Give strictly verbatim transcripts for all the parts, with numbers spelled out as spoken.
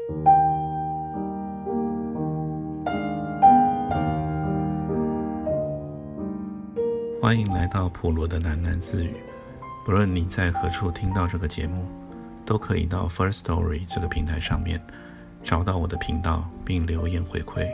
欢迎来到普罗的喃喃自语。不论你在何处听到这个节目，都可以到 First Story 这个平台上面找到我的频道并留言回馈。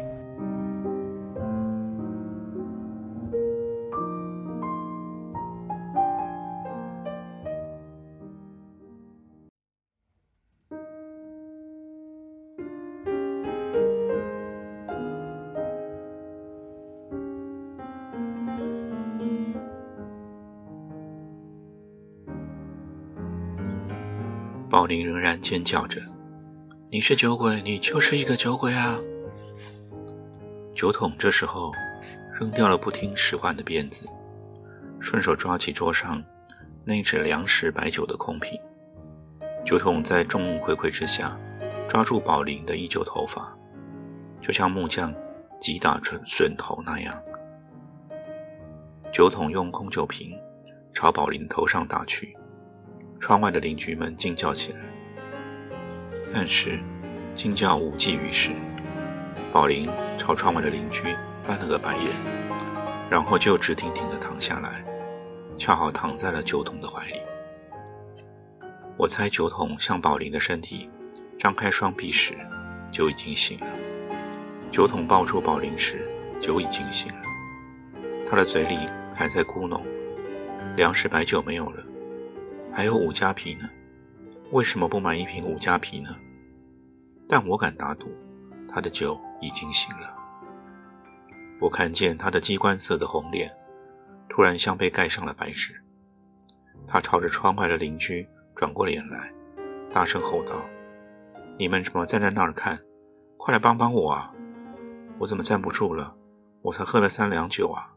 宝林仍然尖叫着，你是酒鬼，你就是一个酒鬼啊！酒桶这时候扔掉了不听使唤的鞭子，顺手抓起桌上那只粮食白酒的空瓶。酒桶在众目睽睽之下抓住宝林的一绺头发，就像木匠击打笋头那样。酒桶用空酒瓶朝宝林头上打去，窗外的邻居们惊叫起来，但是惊叫无济于事。宝林朝窗外的邻居翻了个白眼，然后就直挺挺地躺下来，恰好躺在了酒桶的怀里。我猜酒桶向宝林的身体张开双臂时，酒已经醒了；酒桶抱住宝林时，酒已经醒了。他的嘴里还在咕哝，粮食白酒没有了，还有五加皮呢，为什么不买一瓶五加皮呢？但我敢打赌，他的酒已经醒了。我看见他的鸡冠色的红脸突然像被盖上了白纸，他朝着窗外的邻居转过脸来，大声吼道：你们怎么站在那儿看？快来帮帮我啊！我怎么站不住了？我才喝了三两酒啊！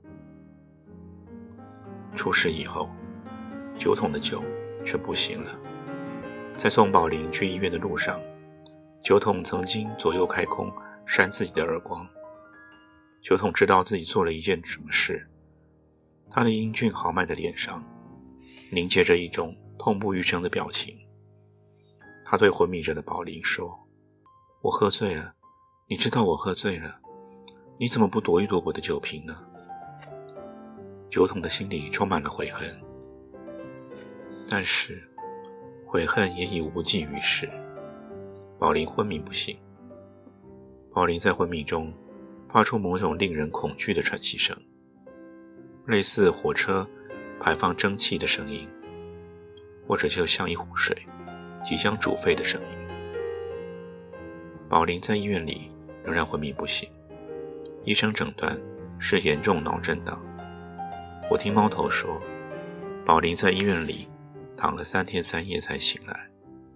出事以后，酒桶的酒却不行了。在送宝林去医院的路上，酒桶曾经左右开弓扇自己的耳光。酒桶知道自己做了一件什么事，他的英俊豪迈的脸上凝结着一种痛不欲生的表情。他对昏迷着的宝林说：我喝醉了，你知道我喝醉了，你怎么不夺一夺我的酒瓶呢？酒桶的心里充满了悔恨，但是悔恨也已无济于事。宝林昏迷不醒，宝林在昏迷中发出某种令人恐惧的喘息声，类似火车排放蒸汽的声音，或者就像一壶水即将煮沸的声音。宝林在医院里仍然昏迷不醒，医生诊断是严重脑震荡。我听猫头说，宝林在医院里躺了三天三夜才醒来。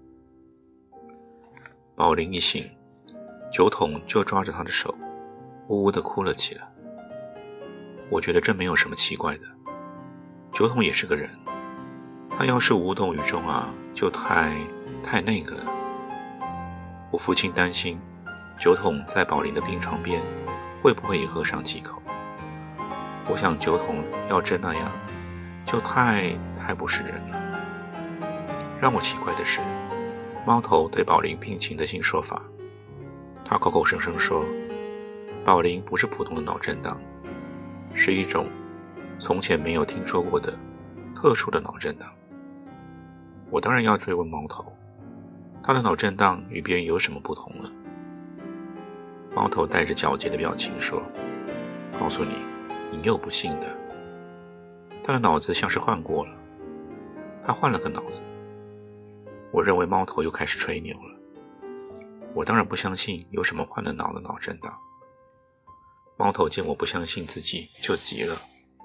宝林一醒，酒桶就抓着他的手呜呜地哭了起来。我觉得这没有什么奇怪的，酒桶也是个人，他要是无动于衷啊，就太太那个了。我父亲担心酒桶在宝林的病床边会不会也喝上几口。我想酒桶要真那样，就太太不是人了。让我奇怪的是，猫头对宝林病情的新说法。他口口声声说，宝林不是普通的脑震荡，是一种从前没有听说过的特殊的脑震荡。我当然要追问猫头，他的脑震荡与别人有什么不同呢？猫头带着狡黠的表情说，告诉你，你又不信的。他的脑子像是换过了，他换了个脑子。我认为猫头又开始吹牛了。我当然不相信有什么换了脑的脑震荡。猫头见我不相信自己，就急了。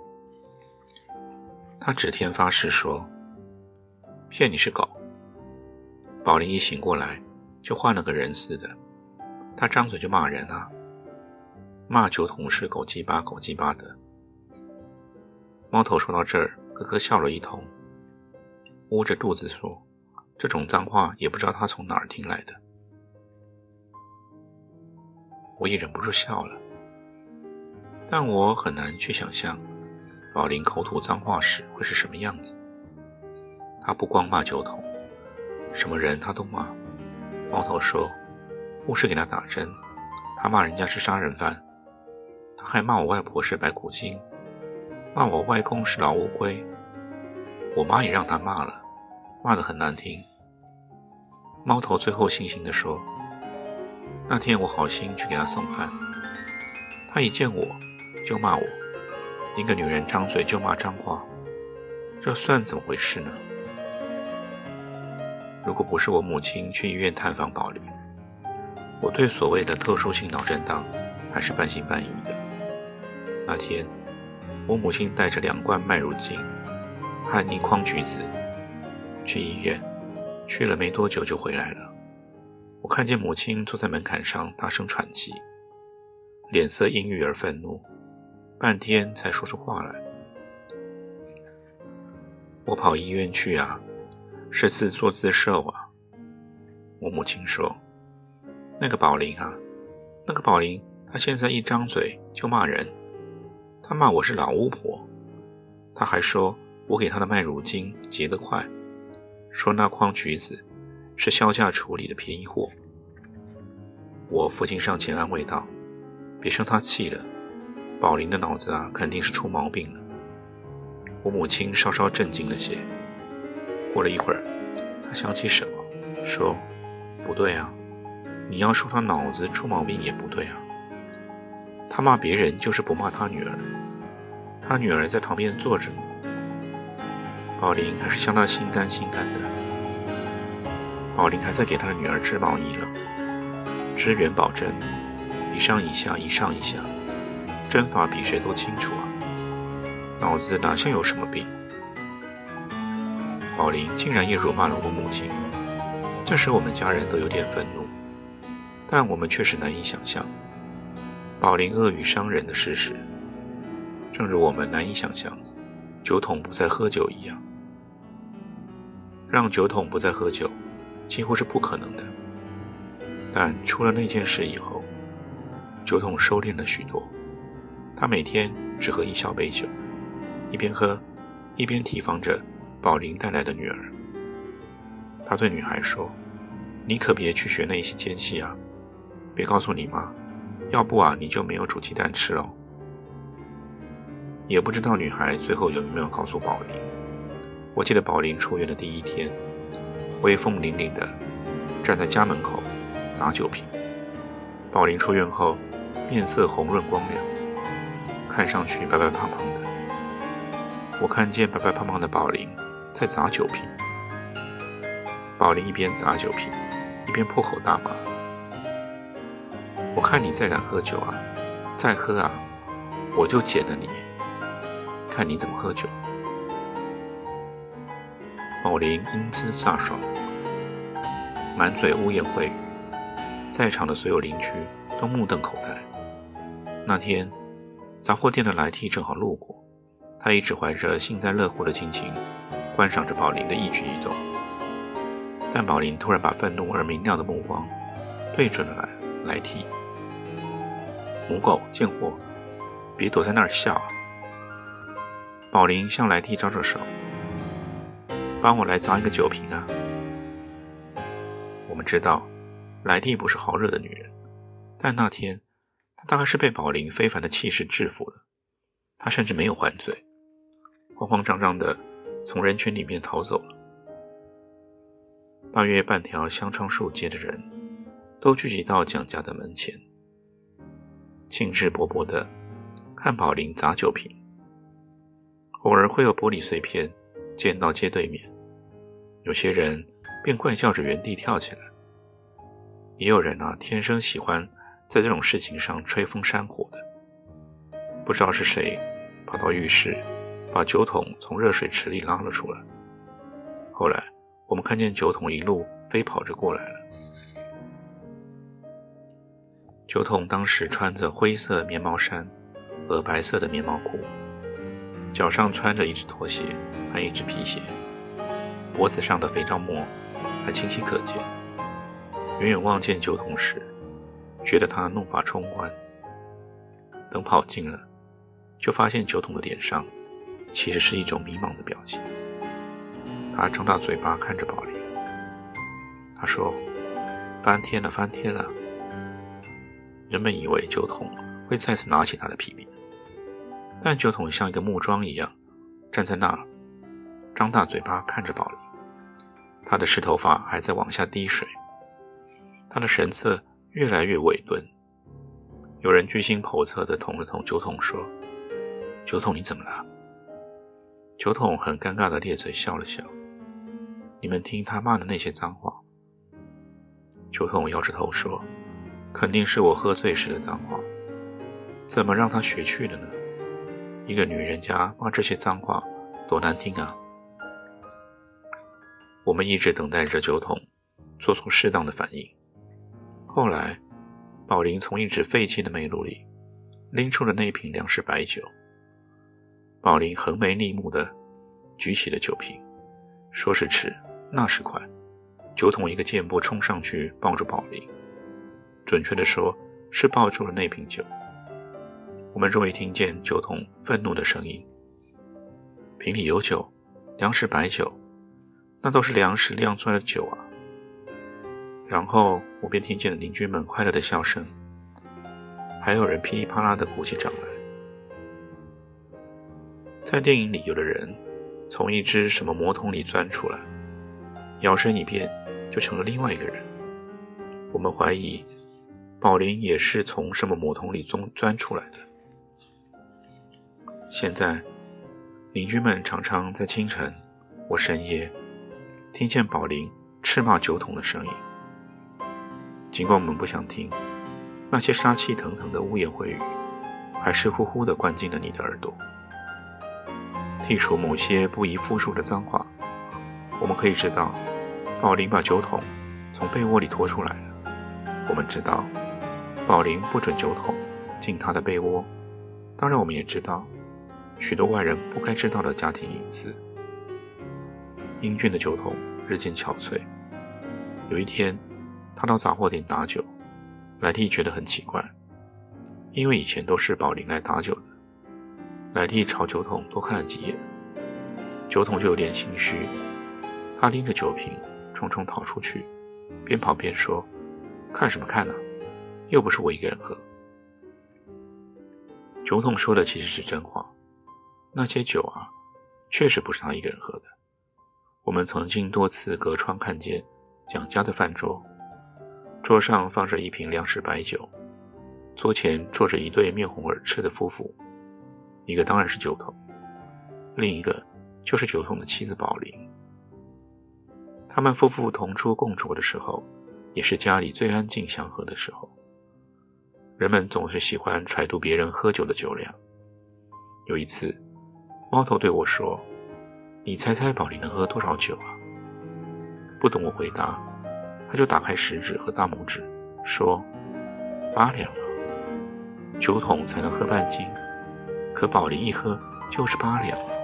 他指天发誓说，骗你是狗。宝林一醒过来，就换了个人似的，他张嘴就骂人啊，骂酒桶是狗鸡巴狗鸡巴的。猫头说到这儿，咯咯笑了一通，捂着肚子说，这种脏话也不知道他从哪儿听来的。我也忍不住笑了，但我很难去想象宝林口吐脏话时会是什么样子。他不光骂酒桶，什么人他都骂。猫头说， 护士给他打针，他骂人家是杀人犯，他还骂我外婆是白骨精，骂我外公是老乌龟，我妈也让他骂了，骂得很难听。猫头最后悻悻地说，那天我好心去给他送饭，他一见我就骂我，一个女人张嘴就骂脏话，这算怎么回事呢？如果不是我母亲去医院探访宝林，我对所谓的特殊性脑震荡还是半信半疑的。那天我母亲带着两罐麦乳精和一筐橘子去医院，去了没多久就回来了。我看见母亲坐在门槛上大声喘气，脸色阴郁而愤怒，半天才说出话来。我跑医院去啊，是次做自受啊。我母亲说，那个宝林啊，那个宝林他现在一张嘴就骂人，他骂我是老巫婆，他还说我给他的麦乳精结得快，说那筐橘子是销价处理的便宜货。我父亲上前安慰道，别生他气了，宝林的脑子啊肯定是出毛病了。我母亲稍稍镇静了些，过了一会儿，她想起什么，说，不对啊，你要说他脑子出毛病也不对啊，他骂别人就是不骂他女儿，他女儿在旁边坐着呢，宝林还是向他心甘心甘的。宝林还在给他的女儿织毛衣了，织元宝针，一上一下一上一下，针法比谁都清楚啊，脑子哪像有什么病。宝林竟然也辱骂了我母亲，这时我们家人都有点愤怒，但我们确实难以想象宝林恶语伤人的事实，正如我们难以想象酒桶不再喝酒一样。让酒桶不再喝酒几乎是不可能的，但出了那件事以后，酒桶收敛了许多，他每天只喝一小杯酒，一边喝一边提防着宝林带来的女儿。他对女孩说，你可别去学那些奸细啊，别告诉你妈，要不啊你就没有煮鸡蛋吃了。也不知道女孩最后有没有告诉宝林。我记得宝林出院的第一天，威风凛凛的站在家门口砸酒瓶。宝林出院后面色红润光亮，看上去白白胖胖的。我看见白白胖胖的宝林在砸酒瓶，宝林一边砸酒瓶一边破口大骂，我看你再敢喝酒啊，再喝啊，我就剪了你，看你怎么喝酒。宝林英姿飒爽，满嘴污言秽语，在场的所有邻居都目瞪口呆。那天杂货店的来替正好路过，他一直怀着幸灾乐祸的心情观赏着宝林的一举一动，但宝林突然把愤怒而明亮的目光对准了来来替。母狗贱货，别躲在那儿笑啊！宝林向来替招着手，帮我来砸一个酒瓶啊！我们知道来替不是好惹的女人，但那天她大概是被宝林非凡的气势制服了，她甚至没有还嘴，慌慌张张的从人群里面逃走了。大约半条香樟树街的人都聚集到蒋家的门前，兴致勃勃的看宝林砸酒瓶。偶尔会有玻璃碎片溅到街对面，有些人便怪叫着原地跳起来。也有人啊，天生喜欢在这种事情上吹风扇火的。不知道是谁跑到浴室把酒桶从热水池里拉了出来，后来我们看见酒桶一路飞跑着过来了。酒桶当时穿着灰色棉毛衫和白色的棉毛裤，脚上穿着一只拖鞋和一只皮鞋，脖子上的肥皂沫还清晰可见。远远望见酒桶时，觉得他怒发冲冠。等跑近了，就发现酒桶的脸上其实是一种迷茫的表情。他张大嘴巴看着宝林，他说：翻天了，翻天了， 原本以为酒桶会再次拿起他的皮鞭，但酒桶像一个木桩一样站在那儿，张大嘴巴看着宝林。他的湿头发还在往下滴水，他的神色越来越委顿。有人居心叵测地捅了捅酒桶说：酒桶，你怎么了？酒桶很尴尬地咧嘴笑了笑。你们听他骂的那些脏话。酒桶摇着头说：肯定是我喝醉时的脏话，怎么让他学去的呢？一个女人家骂这些脏话多难听啊。我们一直等待着酒桶做出适当的反应。后来宝林从一只废弃的煤炉里拎出了那瓶粮食白酒。宝林横眉立目地举起了酒瓶，说是迟，那是快。酒桶一个箭步冲上去抱住宝林，准确地说是抱住了那瓶酒。我们终于听见酒桶愤怒的声音：瓶里有酒，粮食白酒，那都是粮食酿出来的酒啊。然后我便听见了邻居们快乐的笑声，还有人噼里啪啦地鼓起掌来。在电影里，有的人从一只什么魔桶里钻出来，摇身一变就成了另外一个人。我们怀疑宝林也是从什么魔桶里钻出来的。现在邻居们常常在清晨或深夜听见宝林斥骂酒桶的声音。尽管我们不想听，那些杀气腾腾的污言秽语还是呼呼地灌进了你的耳朵。剔除某些不宜复述的脏话，我们可以知道宝林把酒桶从被窝里拖出来了。我们知道宝林不准酒桶进他的被窝，当然我们也知道许多外人不该知道的家庭隐私。英俊的酒桶日渐憔悴。有一天他到杂货店打酒，莱蒂觉得很奇怪，因为以前都是宝林来打酒的。莱蒂朝酒桶多看了几眼，酒桶就有点心虚，他拎着酒瓶匆匆逃出去，边跑边说：看什么看啊，又不是我一个人喝。酒桶说的其实是真话，那些酒啊，确实不是他一个人喝的。我们曾经多次隔窗看见蒋家的饭桌，桌上放着一瓶粮食白酒，桌前坐着一对面红耳赤的夫妇，一个当然是酒桶，另一个就是酒桶的妻子宝林。他们夫妇同桌共酌的时候，也是家里最安静祥和的时候。人们总是喜欢揣度别人喝酒的酒量。有一次，猫头对我说：你猜猜宝林能喝多少酒啊？不等我回答，他就打开食指和大拇指说：八两啊。酒桶才能喝半斤，可宝林一喝就是八两啊。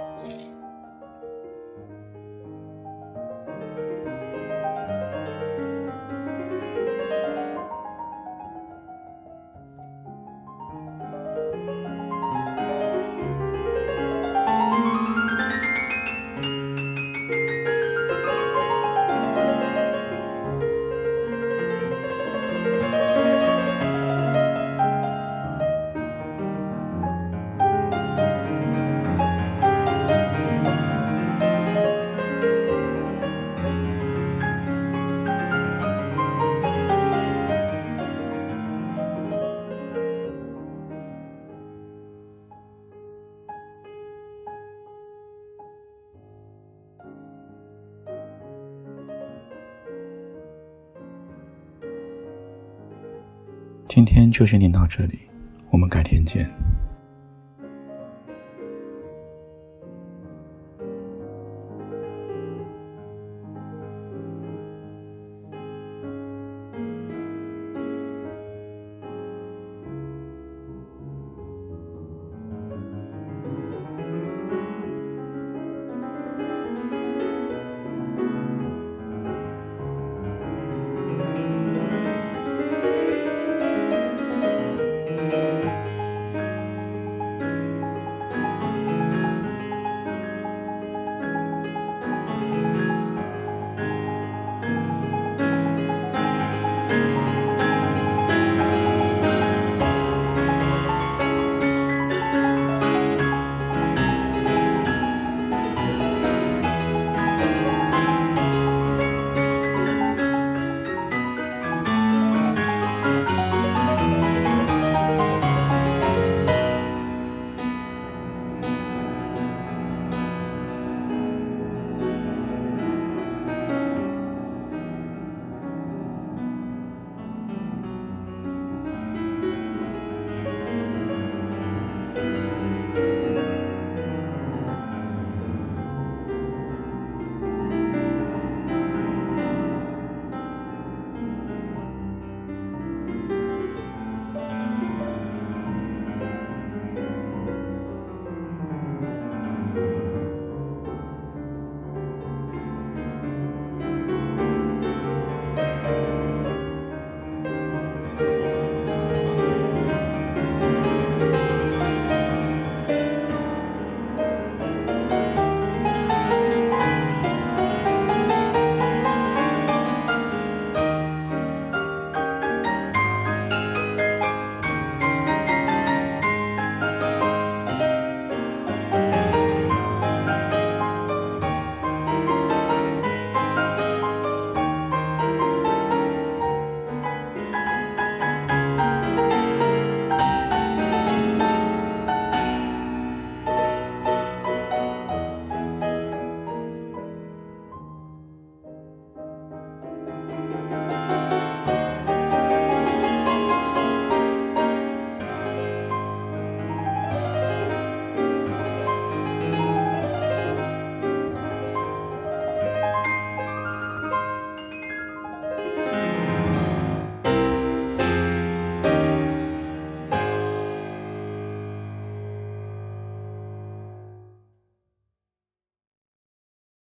今天就先念到这里，我们改天见。